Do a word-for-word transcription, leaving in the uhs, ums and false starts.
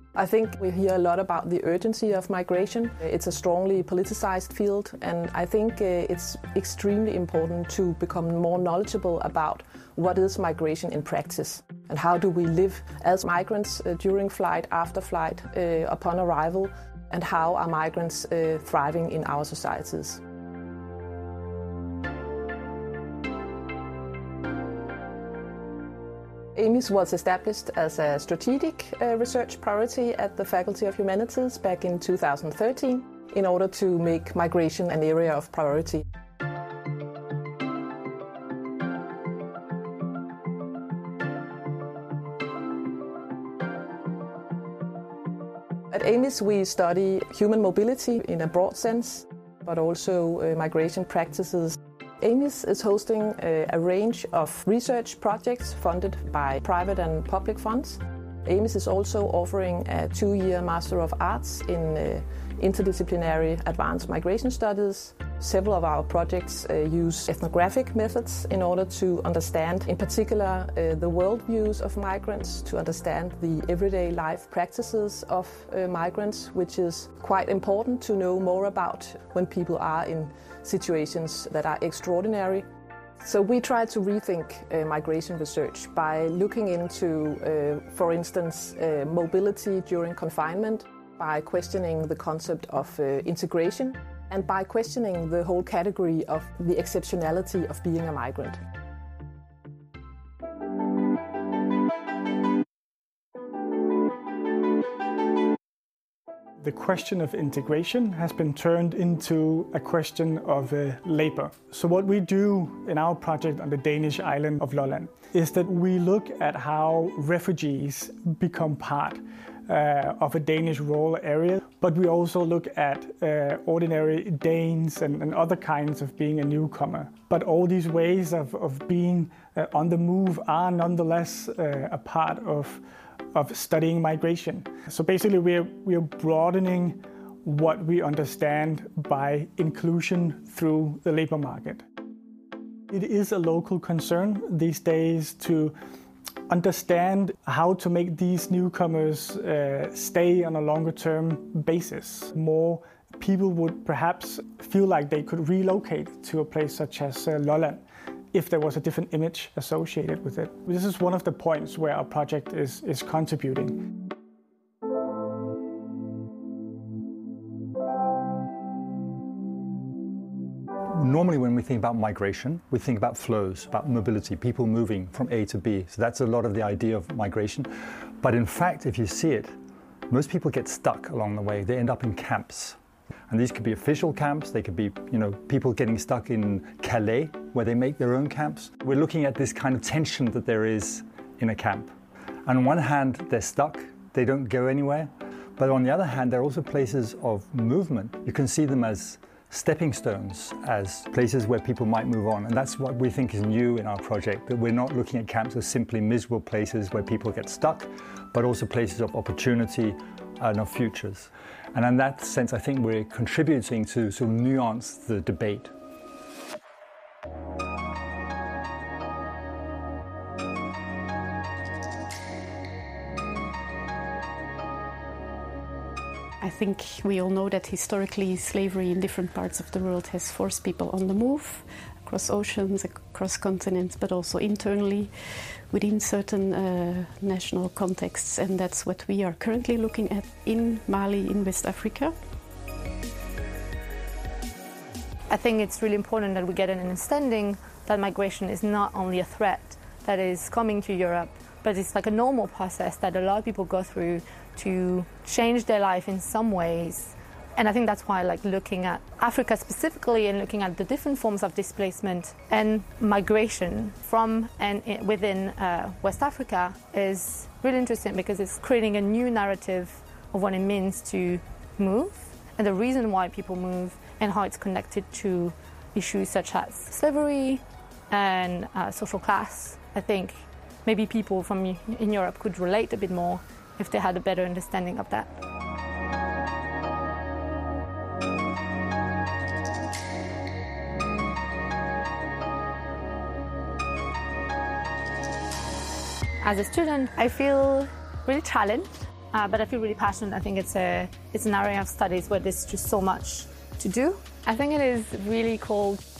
I think we hear a lot about the urgency of migration. It's a strongly politicized field, and I think it's extremely important to become more knowledgeable about what is migration in practice and how do we live as migrants during flight, after flight, uh, upon arrival, and how are migrants uh, thriving in our societies. A M I S was established as a strategic uh, research priority at the Faculty of Humanities back in two thousand thirteen in order to make migration an area of priority. At A M I S we study human mobility in a broad sense, but also uh, migration practices. A M I S is hosting a, a range of research projects funded by private and public funds. A M I S is also offering a two-year Master of Arts in uh, interdisciplinary advanced migration studies. Several of our projects uh, use ethnographic methods in order to understand, in particular, uh, the worldviews of migrants, to understand the everyday life practices of uh, migrants, which is quite important to know more about when people are in situations that are extraordinary. So we try to rethink uh, migration research by looking into, uh, for instance, uh, mobility during confinement, by questioning the concept of uh, integration, and by questioning the whole category of the exceptionality of being a migrant. The question of integration has been turned into a question of uh, labor. So what we do in our project on the Danish island of Lolland is that we look at how refugees become part uh, of a Danish rural area, but we also look at uh, ordinary Danes and, and other kinds of being a newcomer. But all these ways of, of being uh, on the move are nonetheless uh, a part of of studying migration. So basically we're, we're broadening what we understand by inclusion through the labor market. It is a local concern these days to understand how to make these newcomers uh, stay on a longer term basis. More people would perhaps feel like they could relocate to a place such as uh, Lolland if there was a different image associated with it. This is one of the points where our project is, is contributing. Normally when we think about migration, we think about flows, about mobility, people moving from A to B. So that's a lot of the idea of migration. But in fact, if you see it, most people get stuck along the way. They end up in camps. And these could be official camps, they could be, you know, people getting stuck in Calais, where they make their own camps. We're looking at this kind of tension that there is in a camp. And on one hand, they're stuck, they don't go anywhere. But on the other hand, they're also places of movement. You can see them as stepping stones, as places where people might move on. And that's what we think is new in our project, that we're not looking at camps as simply miserable places where people get stuck, but also places of opportunity and of futures. And in that sense, I think we're contributing to sort of nuance the debate. I think we all know that historically slavery in different parts of the world has forced people on the move, across oceans, across continents, but also internally within certain uh, national contexts. And that's what we are currently looking at in Mali, in West Africa. I think it's really important that we get an understanding that migration is not only a threat that is coming to Europe, but it's like a normal process that a lot of people go through to change their life in some ways. And I think that's why like looking at Africa specifically and looking at the different forms of displacement and migration from and within uh, West Africa is really interesting, because it's creating a new narrative of what it means to move and the reason why people move and how it's connected to issues such as slavery and uh, social class. I think maybe people from in Europe could relate a bit more if they had a better understanding of that. As a student, I feel really challenged uh, but I feel really passionate. I think it's a it's an area of studies where there's just so much to do. I think it is really cool